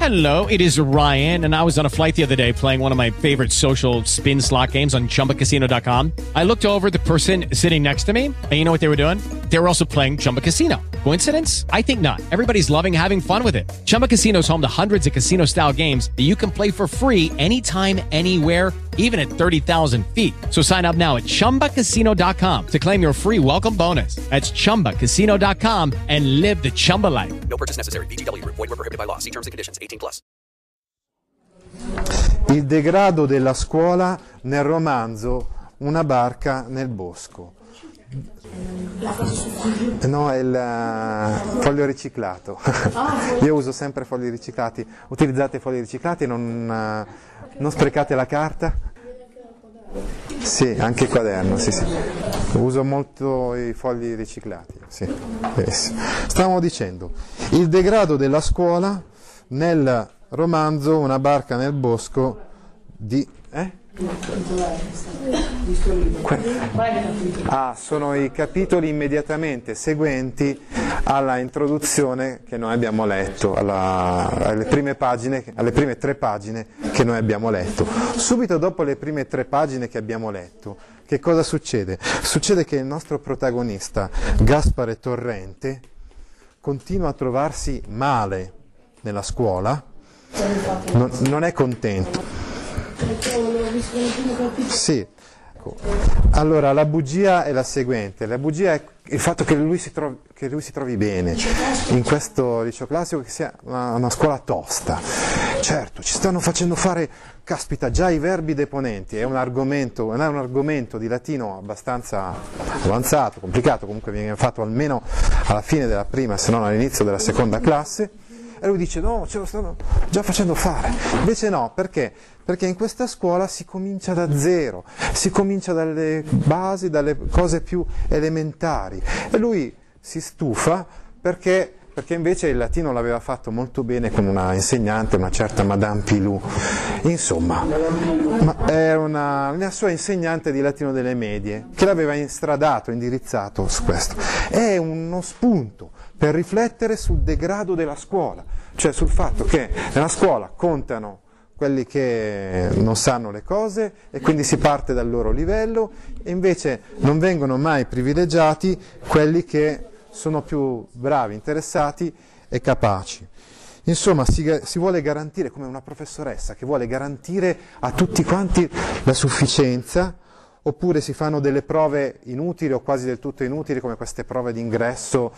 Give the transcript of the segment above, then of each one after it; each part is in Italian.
Hello, it is Ryan, and I was on a flight the other day playing one of my favorite social spin slot games on ChumbaCasino.com. I looked over at the person sitting next to me, and you know what they were doing? They were also playing Chumba Casino. Coincidence? I think not. Everybody's loving having fun with it. Chumba Casino is home to hundreds of casino-style games that you can play for free anytime, anywhere, even at 30,000 feet. So sign up now at ChumbaCasino.com to claim your free welcome bonus. That's ChumbaCasino.com and live the Chumba life. No purchase necessary. VGW. Void where prohibited by law. See terms and conditions. 18+. Il degrado della scuola nel romanzo Una barca nel bosco. No, è il foglio riciclato. Io uso sempre fogli riciclati. Utilizzate fogli riciclati, non sprecate la carta. Sì, anche il quaderno, sì. Uso molto i fogli riciclati, sì. Stavamo dicendo, il degrado della scuola nel romanzo Una barca nel bosco di... sono i capitoli immediatamente seguenti alla introduzione che noi abbiamo letto, alle prime 3 pagine che noi abbiamo letto. Subito dopo le prime 3 pagine che abbiamo letto, che cosa succede? Succede che il nostro protagonista, Gaspare Torrente, continua a trovarsi male nella scuola, non è contento. Sì, allora la bugia è la seguente, la bugia è il fatto che lui si trovi bene in questo liceo classico, che sia una scuola tosta. Certo, ci stanno facendo fare, caspita, già i verbi deponenti, è un argomento di latino abbastanza avanzato, complicato, comunque viene fatto almeno alla fine della prima, se non all'inizio della seconda classe. E lui dice no, ce lo stanno già facendo fare. Invece no, perché? Perché in questa scuola si comincia da zero, si comincia dalle basi, dalle cose più elementari. E lui si stufa perché invece il latino l'aveva fatto molto bene con una insegnante, una certa Madame Pilou. Insomma, è la sua insegnante di latino delle medie, che l'aveva indirizzato su questo. È uno spunto per riflettere sul degrado della scuola, cioè sul fatto che nella scuola contano quelli che non sanno le cose e quindi si parte dal loro livello, e invece non vengono mai privilegiati quelli che sono più bravi, interessati e capaci. Insomma, si vuole garantire, come una professoressa che vuole garantire a tutti quanti la sufficienza, oppure si fanno delle prove inutili o quasi del tutto inutili, come queste prove d'ingresso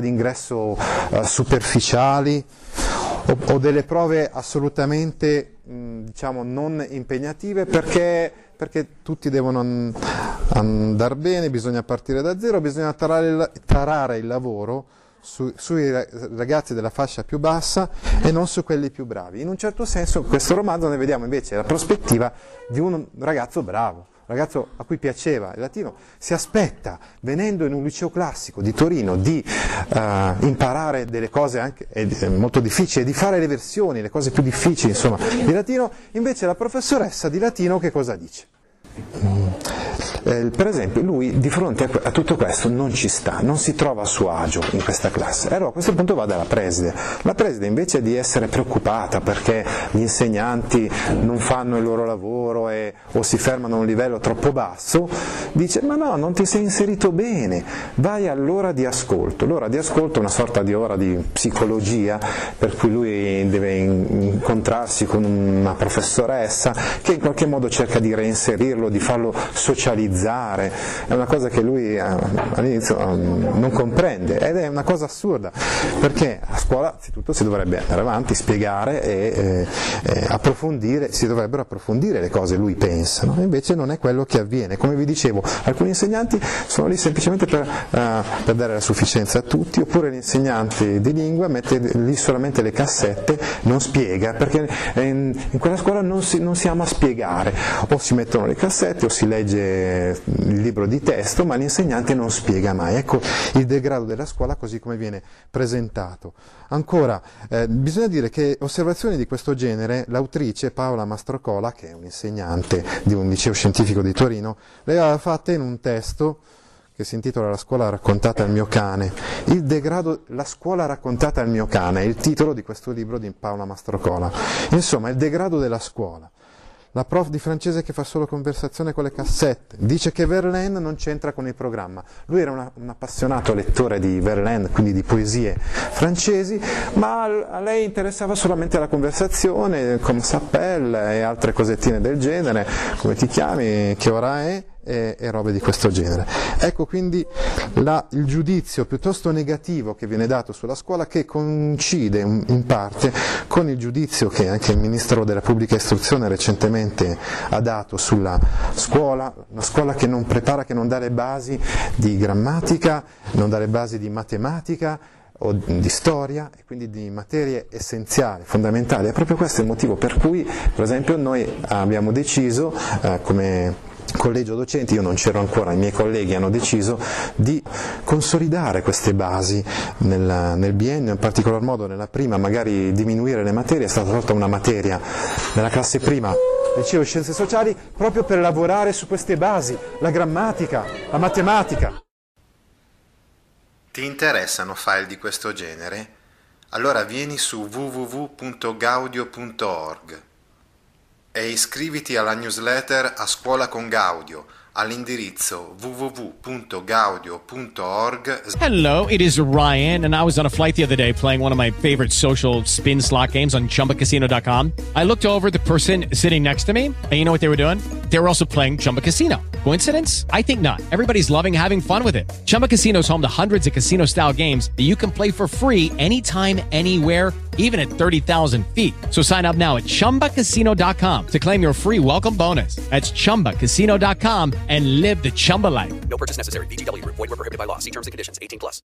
superficiali, o delle prove assolutamente non impegnative, perché tutti devono andare bene, bisogna partire da zero, bisogna tarare il lavoro sui ragazzi della fascia più bassa e non su quelli più bravi. In un certo senso in questo romanzo noi vediamo invece la prospettiva di un ragazzo bravo, ragazzo a cui piaceva il latino, si aspetta, venendo in un liceo classico di Torino, di imparare delle cose anche molto difficili, di fare le versioni, le cose più difficili, insomma, di latino. Invece la professoressa di latino che cosa dice? Per esempio, lui di fronte a tutto questo non ci sta, non si trova a suo agio in questa classe. Allora a questo punto va dalla preside. La preside, invece di essere preoccupata perché gli insegnanti non fanno il loro lavoro o si fermano a un livello troppo basso, dice: ma no, non ti sei inserito bene, vai all'ora di ascolto. L'ora di ascolto è una sorta di ora di psicologia, per cui lui deve incontrarsi con una professoressa che in qualche modo cerca di reinserirlo, di farlo socializzare. È una cosa che lui all'inizio non comprende, ed è una cosa assurda, perché a scuola anzitutto si dovrebbe andare avanti, spiegare e approfondire, si dovrebbero approfondire le cose, lui pensa, no? Invece non è quello che avviene. Come vi dicevo, alcuni insegnanti sono lì semplicemente per dare la sufficienza a tutti, oppure l'insegnante di lingua mette lì solamente le cassette, non spiega, perché in quella scuola non si ama spiegare, o si mettono le cassette o si legge il libro di testo, ma l'insegnante non spiega mai. Ecco il degrado della scuola così come viene presentato. Ancora, bisogna dire che osservazioni di questo genere l'autrice Paola Mastrocola, che è un'insegnante di un liceo scientifico di Torino, le aveva fatte in un testo che si intitola La scuola raccontata al mio cane. La scuola raccontata al mio cane è il titolo di questo libro di Paola Mastrocola. Insomma, il degrado della scuola. La prof di francese che fa solo conversazione con le cassette, dice che Verlaine non c'entra con il programma. Lui era un appassionato lettore di Verlaine, quindi di poesie francesi, ma a lei interessava solamente la conversazione, come s'appelle e altre cosettine del genere, come ti chiami, che ora è, e robe di questo genere. Ecco quindi il giudizio piuttosto negativo che viene dato sulla scuola, che coincide in parte con il giudizio che anche il Ministro della Pubblica Istruzione recentemente ha dato sulla scuola, una scuola che non prepara, che non dà le basi di grammatica, non dà le basi di matematica o di storia, e quindi di materie essenziali, fondamentali. E proprio questo è il motivo per cui, per esempio, noi abbiamo deciso come collegio docenti, io non c'ero ancora, i miei colleghi hanno deciso di consolidare queste basi nel biennio, in particolar modo nella prima, magari diminuire le materie. È stata tolta una materia nella classe prima, liceo scienze sociali, proprio per lavorare su queste basi, la grammatica, la matematica. Ti interessano file di questo genere? Allora vieni su www.gaudio.org e iscriviti alla newsletter A Scuola con Gaudio all'indirizzo www.gaudio.org. Hello, it is Ryan, and I was on a flight the other day playing one of my favorite social spin slot games on ChumbaCasino.com. I looked over at the person sitting next to me, and you know what they were doing? They were also playing Chumba Casino. Coincidence? I think not. Everybody's loving having fun with it. Chumba Casino is home to hundreds of casino-style games that you can play for free anytime, anywhere, even at 30,000 feet. So sign up now at ChumbaCasino.com to claim your free welcome bonus. That's ChumbaCasino.com and live the Chumba life. No purchase necessary. VGW Group. Void where prohibited by law. See terms and conditions. 18+.